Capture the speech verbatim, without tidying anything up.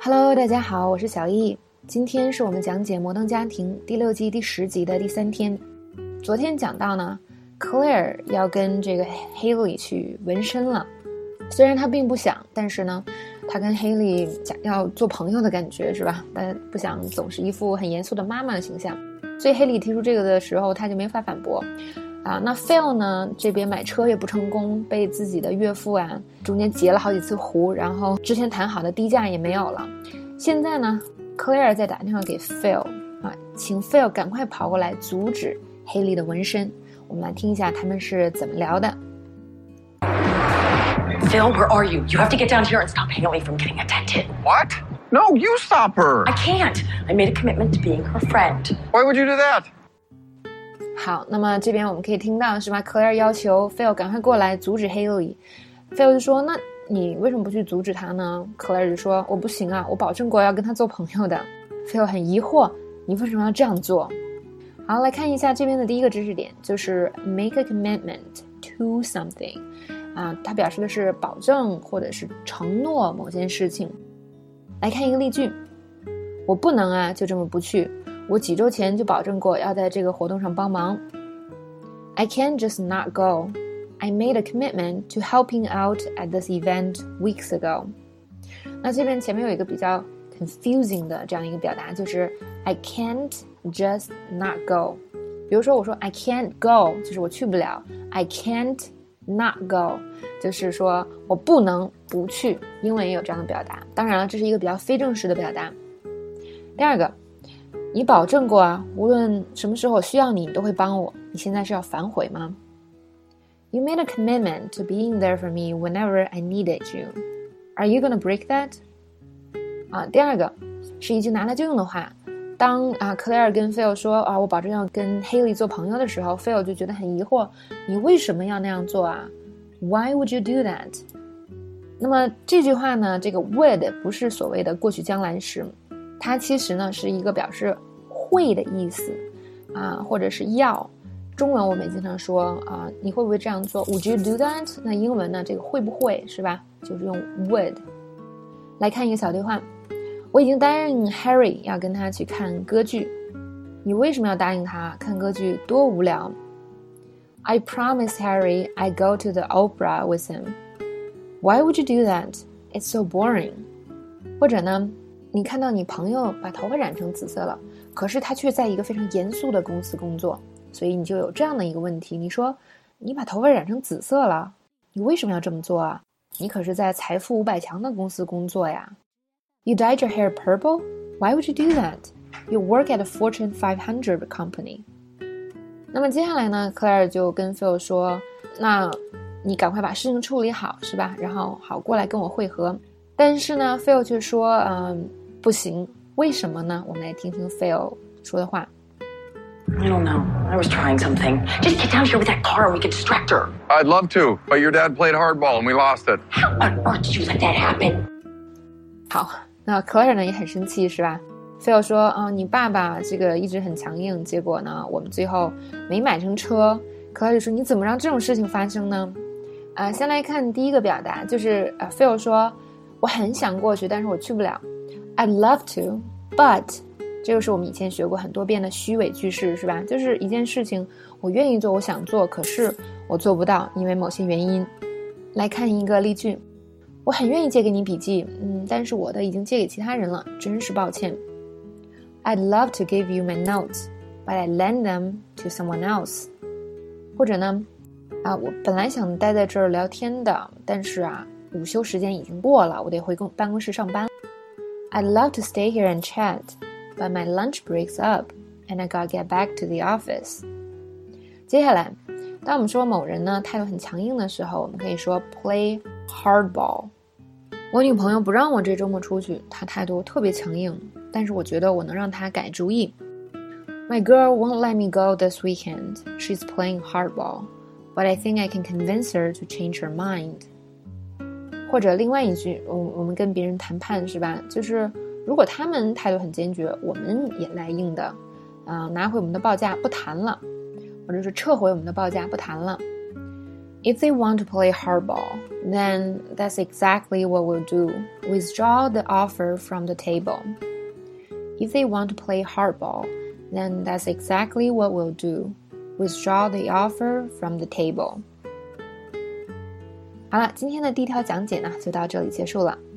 Hello， 大家好，我是小易。今天是我们讲解《摩登家庭》第六季第十集的第三天。昨天讲到呢 ，Claire 要跟这个 Haley 去纹身了。虽然她并不想，但是呢，她跟 Haley 想要做朋友的感觉，是吧？但不想总是一副很严肃的妈妈的形象。所以 Haley 提出这个的时候，她就没法反驳。啊，那 Phil 呢？这边买车也不成功，被自己的岳父啊中间截了好几次胡，然后之前谈好的低价也没有了。现在呢 ，Claire 在打电话给 Phil 啊，请 Phil 赶快跑过来阻止 Haley 的纹身。我们来听一下他们是怎么聊的。 Phil, where are you? You have to get down here and stop Haley from getting attended. What? No, you stop her. I can't. I made a commitment to being her friend. Why would you do that? 好，那么这边我们可以听到是吧 Claire 要求 Phil 赶快过来阻止 Haley。 Phil 就说，那你为什么不去阻止他呢？ Claire 就说，我不行啊，我保证过要跟他做朋友的。 Phil 很疑惑，你为什么要这样做？好，来看一下这边的第一个知识点，就是 make a commitment to something 啊，它表示的是保证或者是承诺某件事情。来看一个例句，我不能啊就这么不去，我几周前就保证过要在这个活动上帮忙。 I can't just not go. I made a commitment to helping out at this event weeks ago. 那这边前面有一个比较 confusing 的这样一个表达，就是 I can't just not go. 比如说我说 I can't go 就是我去不了， I can't not go 就是说我不能不去，英文也有这样的表达。当然了，这是一个比较非正式的表达。第二个，你保证过啊，无论什么时候我需要你，你都会帮我。你现在是要反悔吗？ You made a commitment to being there for me whenever I needed you. Are you gonna break that? 啊，第二个是一句拿来就用的话。当啊 Claire 跟 Phil 说啊，我保证要跟 Haley 做朋友的时候， Phil 就觉得很疑惑，你为什么要那样做啊？ Why would you do that? 那么这句话呢，这个 would 不是所谓的过去将来时，它其实呢是一个表示会的意思啊，或者是要。中文我们也经常说啊，你会不会这样做 Would you do that? 那英文呢，这个会不会是吧，就是用 would。 来看一个小对话，我已经答应 Harry 要跟他去看歌剧，你为什么要答应他？看歌剧多无聊。 I promised Harry I go to the opera with him. Why would you do that? It's so boring. 或者呢，你看到你朋友把头发染成紫色了，可是他却在一个非常严肃的公司工作，所以你就有这样的一个问题，你说你把头发染成紫色了，你为什么要这么做啊？你可是在财富五百强的公司工作呀。 You dyed your hair purple? Why would you do that? You work at a Fortune five hundred company. 那么接下来呢 Claire 就跟 Phil 说，那你赶快把事情处理好是吧，然后好过来跟我会合。但是呢 Phil 却说嗯，不行，为什么呢？我们来听听 Phil 说的话。 I don't know. I was trying something. Just get down here with that car and we can distract her. I'd love to, but your dad played hardball and we lost it. How on earth did you let that happen? 好，那 Claire 呢也很生气是吧？ Phil 说啊、哦，你爸爸这个一直很强硬，结果呢我们最后没买成车。 Claire 就说，你怎么让这种事情发生呢？啊、呃，先来看第一个表达，就是呃 Phil 说，我很想过去，但是我去不了。 I'd love to, but 这个是我们以前学过很多遍的虚伪句式是吧？就是一件事情我愿意做，我想做，可是我做不到，因为某些原因。来看一个例句，我很愿意借给你笔记，嗯，但是我的已经借给其他人了，真是抱歉。 I'd love to give you my notes, but I lend them to someone else. 或者呢啊，我本来想待在这儿聊天的，但是啊午休时间已经过了，我得回公办公室上班。 I'd love to stay here and chat, but my lunch breaks up and I gotta get back to the office. 接下来当我们说某人呢态度很强硬的时候，我们可以说 play hardball. 我女朋友不让我这周末出去，她态度特别强硬，但是我觉得我能让她改主意。 My girl won't let me go this weekend. She's playing hardball, but I think I can convince her to change her mind. 或者另外一句，我我们跟别人谈判是吧，就是如果他们态度很坚决，我们也来硬的啊、呃，拿回我们的报价不谈了，或者是撤回我们的报价不谈了。 If they want to play hardball, then that's exactly what we'll do. Withdraw the offer from the table. If they want to play hardball, then that's exactly what we'll do. Withdraw the offer from the table. 好了，今天的第一条讲解呢，就到这里结束了。